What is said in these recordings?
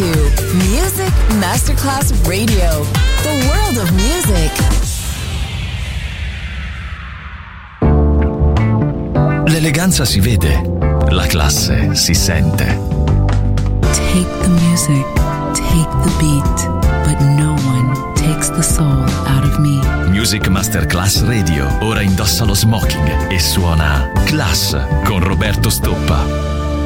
to Music Masterclass Radio, the world of music. L'eleganza si vede, la classe si sente. Take the music, take the beat, but no one takes the soul out of me. Music Masterclass Radio, ora indossa lo smoking e suona Class con Roberto Stoppa.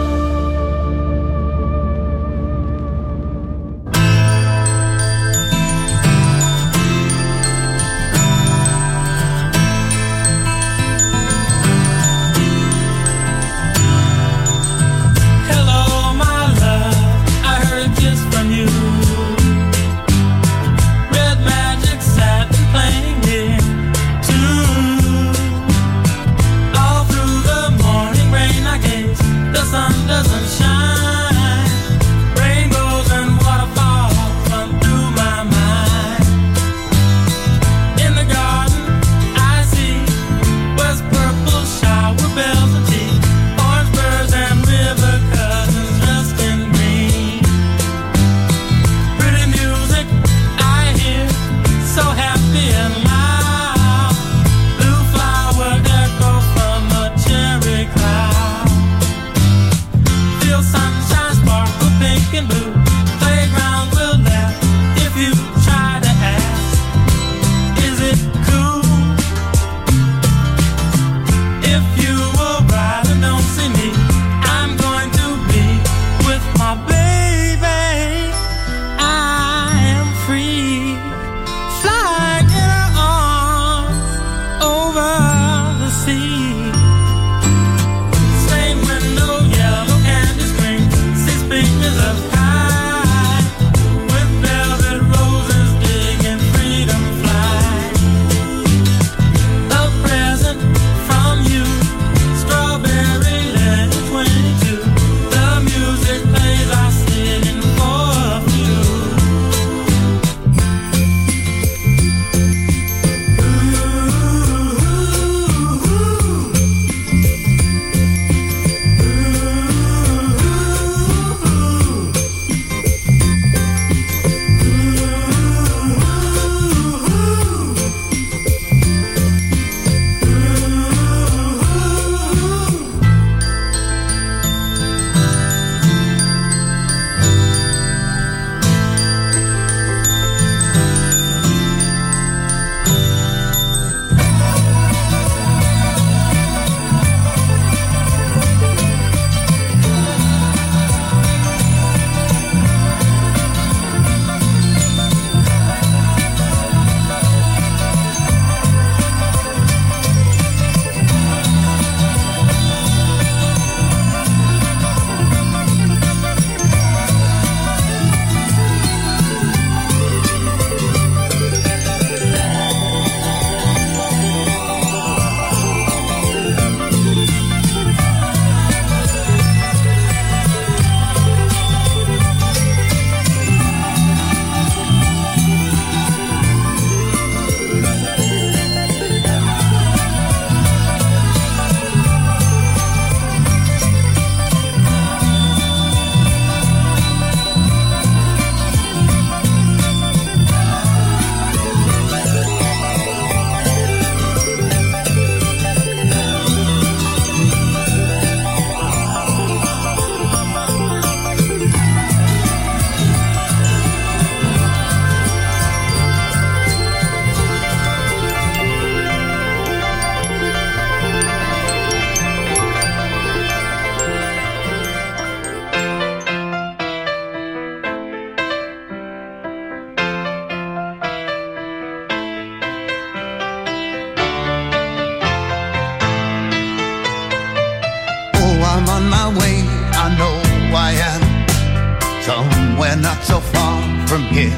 somewhere not so far from here.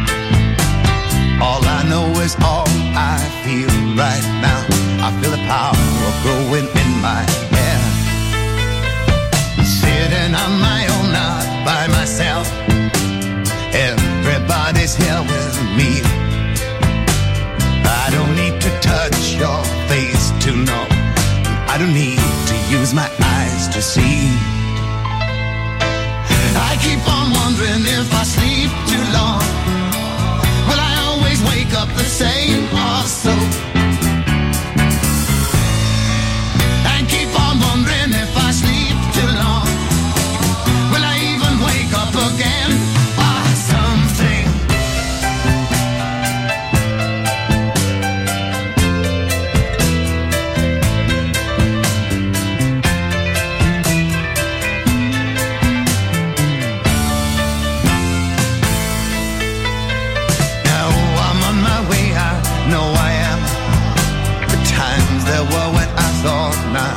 All I know is all I feel right now. I feel the power growing in my hair. Sitting on my own, not by myself. Everybody's here with me. I don't need to touch your face to know. I don't need to use my eyes to see. I keep on wondering if if I sleep too long? Will I always wake up the same or so? And keep on wondering if I sleep too long, will I even wake up again or something? Now I'm on my way, I know I am. The times there were when I thought not.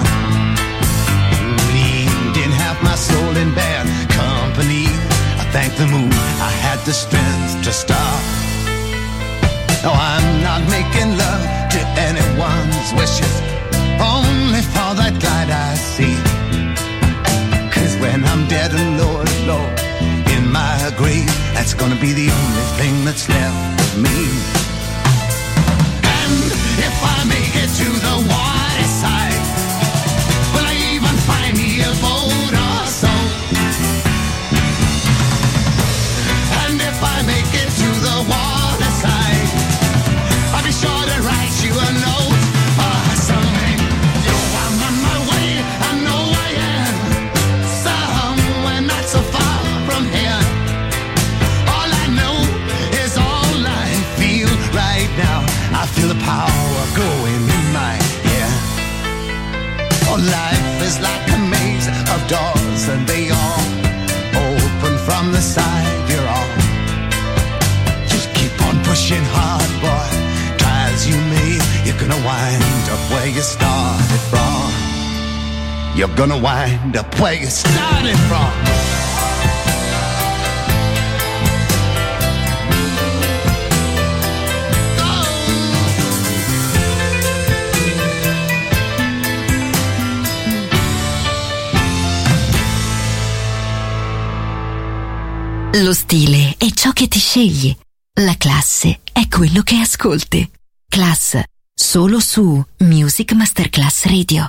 Didn't have my soul in bad company. I thank the moon I had the strength to stop. No, I'm not making love to anyone's wishes, only for that light I see. 'Cause when I'm dead and Lord, Lord, in my grave, that's gonna be the only thing that's left of me. And if I make it to the water side, will I even find me a boat or so? And if I make it to the water side, I'll be sure to write you a note or something. Yo, I'm on my way, I know I am, somewhere not so far from here. All I know is all I feel right now. I feel the power going in my hair. Oh, life is like a maze of doors, and they all open from the side you're on. Just keep on pushing hard, boy. Try as you may, you're gonna wind up where you started from. You're gonna wind up where you started from. Lo stile è ciò che ti scegli. La classe è quello che ascolti. Class, solo su Music Masterclass Radio.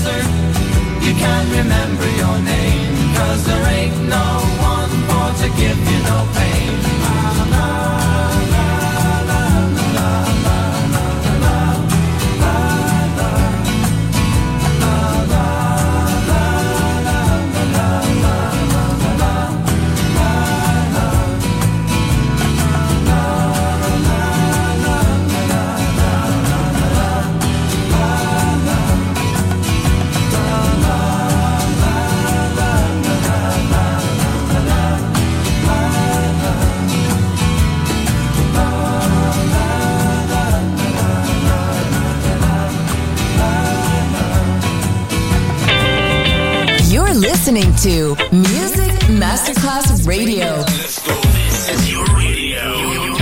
desert, you can't remember your name, 'cause there ain't no one for to give you no pain. Listening to Music Masterclass Radio. Let's go. This is your radio.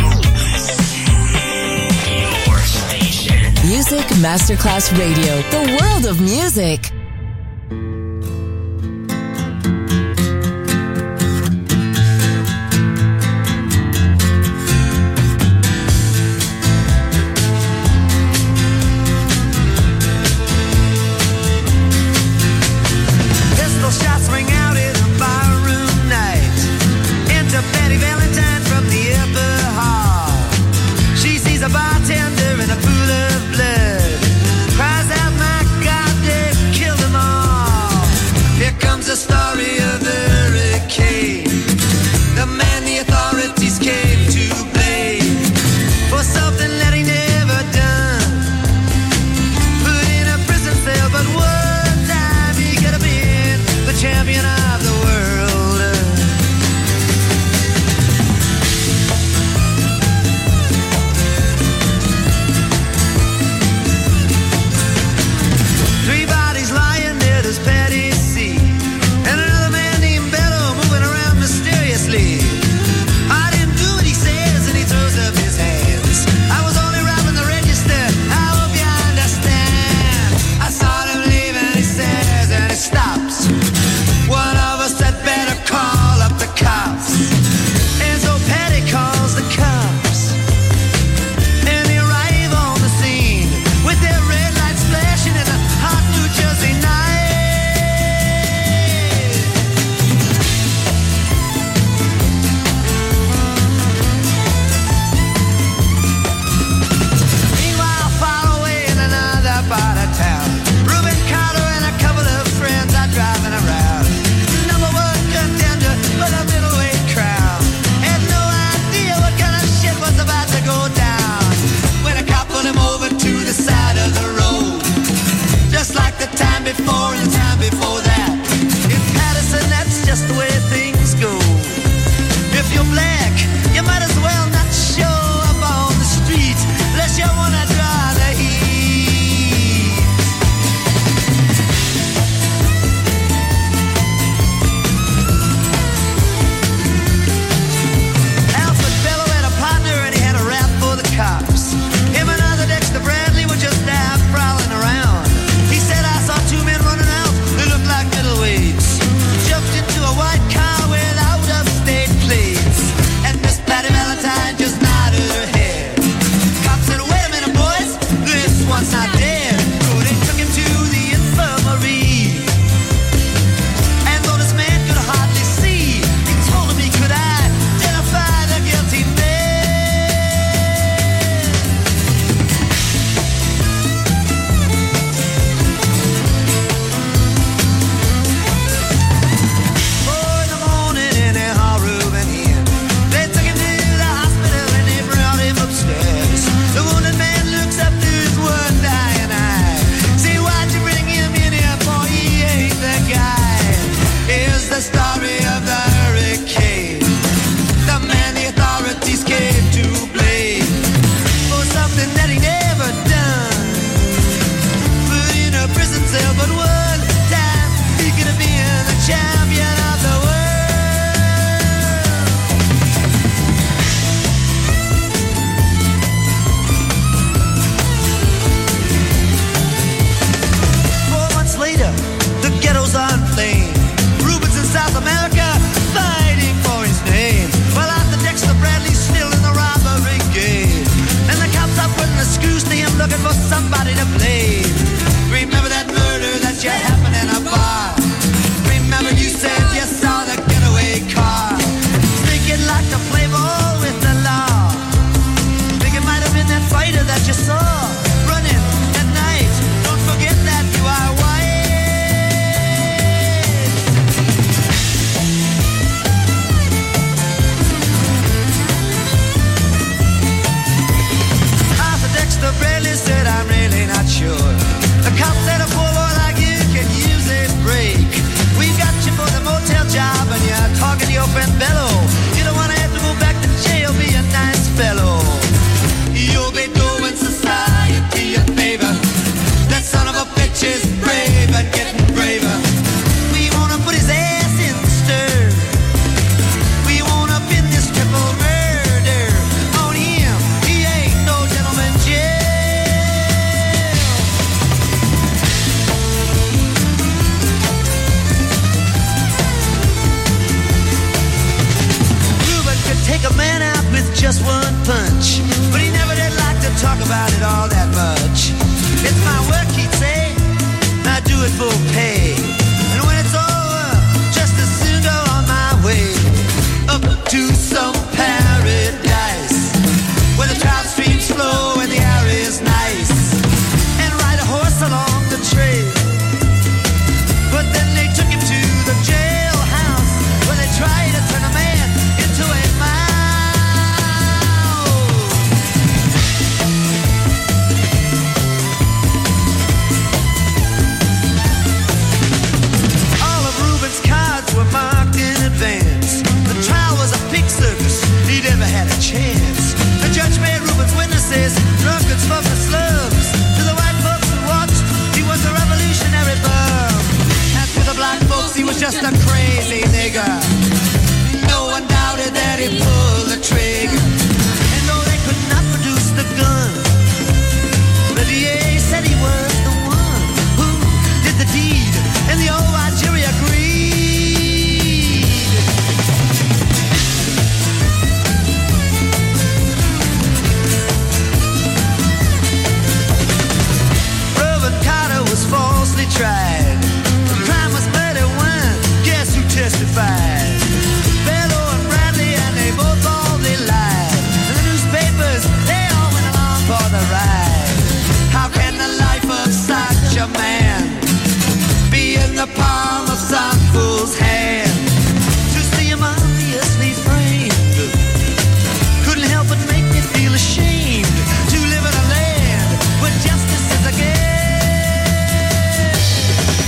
Your station. Music Masterclass Radio. The world of music. Bradley were just there prowling around. He said, I saw two men running out. They looked like talk about it all that much. It's my work, he'd say, I do it for pay. And when it's over, just as soon go on my way up to some paradise where the trout streams flow and the air is nice, and ride a horse along the trail. But then they took him to the jailhouse where they tried to turn a man into a marked in advance. The trial was a pig circus, he never had a chance. The judge made Reuben's witnesses drunkards from the slums. To the white folks who watched, he was a revolutionary bum. And to the black folks, he was just a crazy nigger. No one doubted that he pulled the trigger. And though they could not produce the gun, the DA said he was the one who did the deed, and the old white jury agreed. Falsely tried. The crime was murder when, guess who testified? Bellow and Bradley, and they both they lied. And the newspapers, they all went along for the ride. How can the life of such a man be in the palm of some fool's hand? To see him obviously framed couldn't help but make me feel ashamed to live in a land where justice is a game.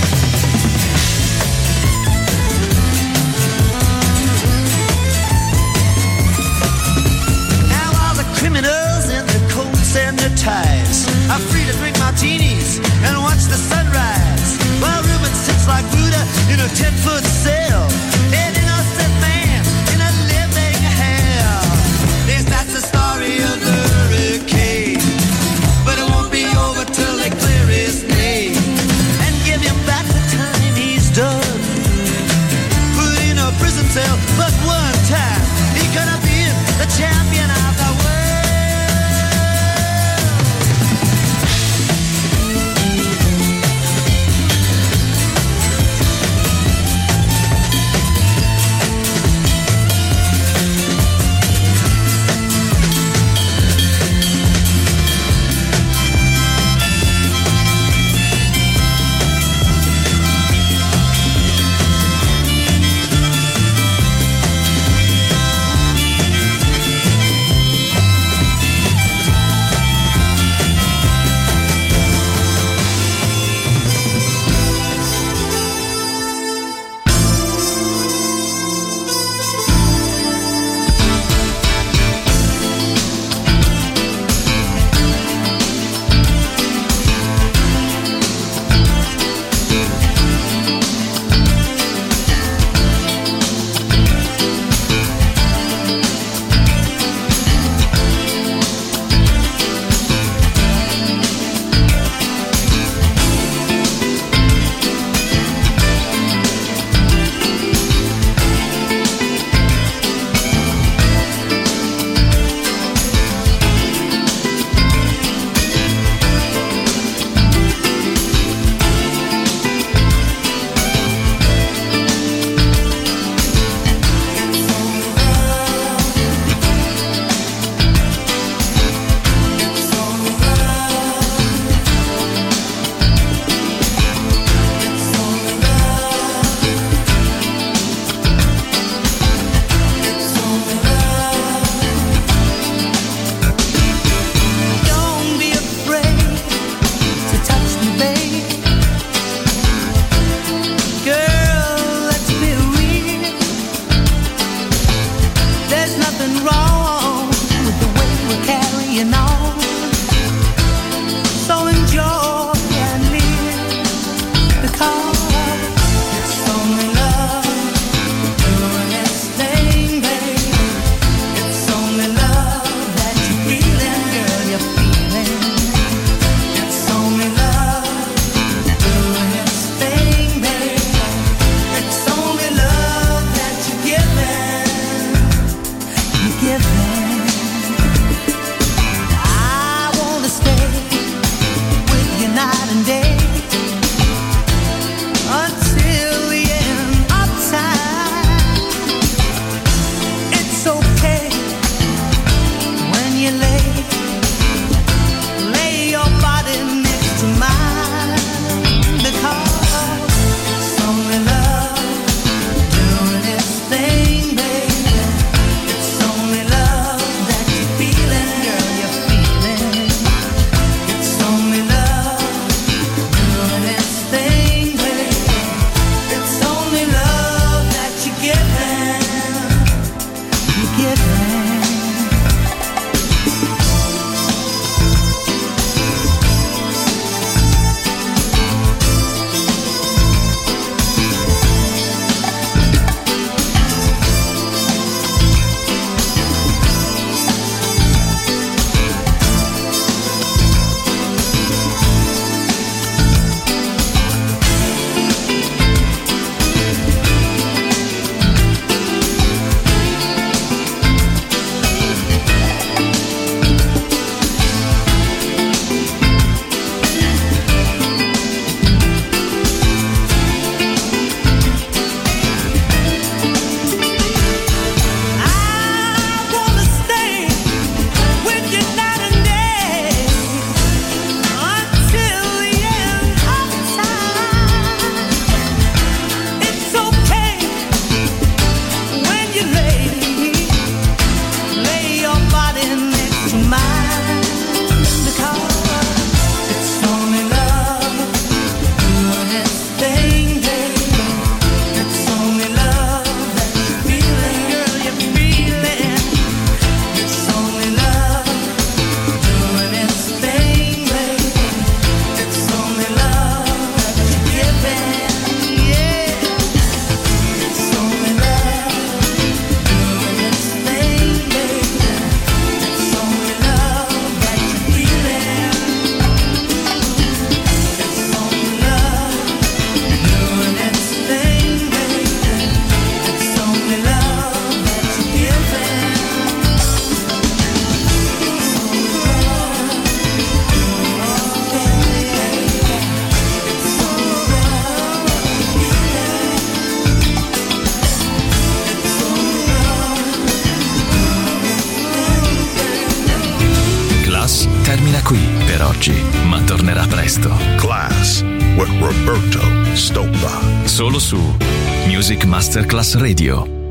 oggi, ma tornerà presto. Class with Roberto Stoppa. Solo su Music Masterclass Radio.